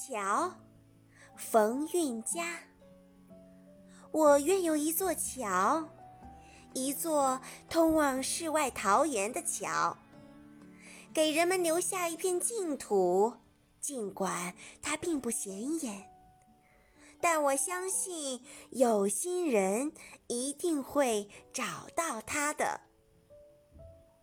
桥，冯运嘉。我愿有一座桥，一座通往世外桃源的桥，给人们留下一片净土，尽管它并不显眼，但我相信有心人一定会找到它的。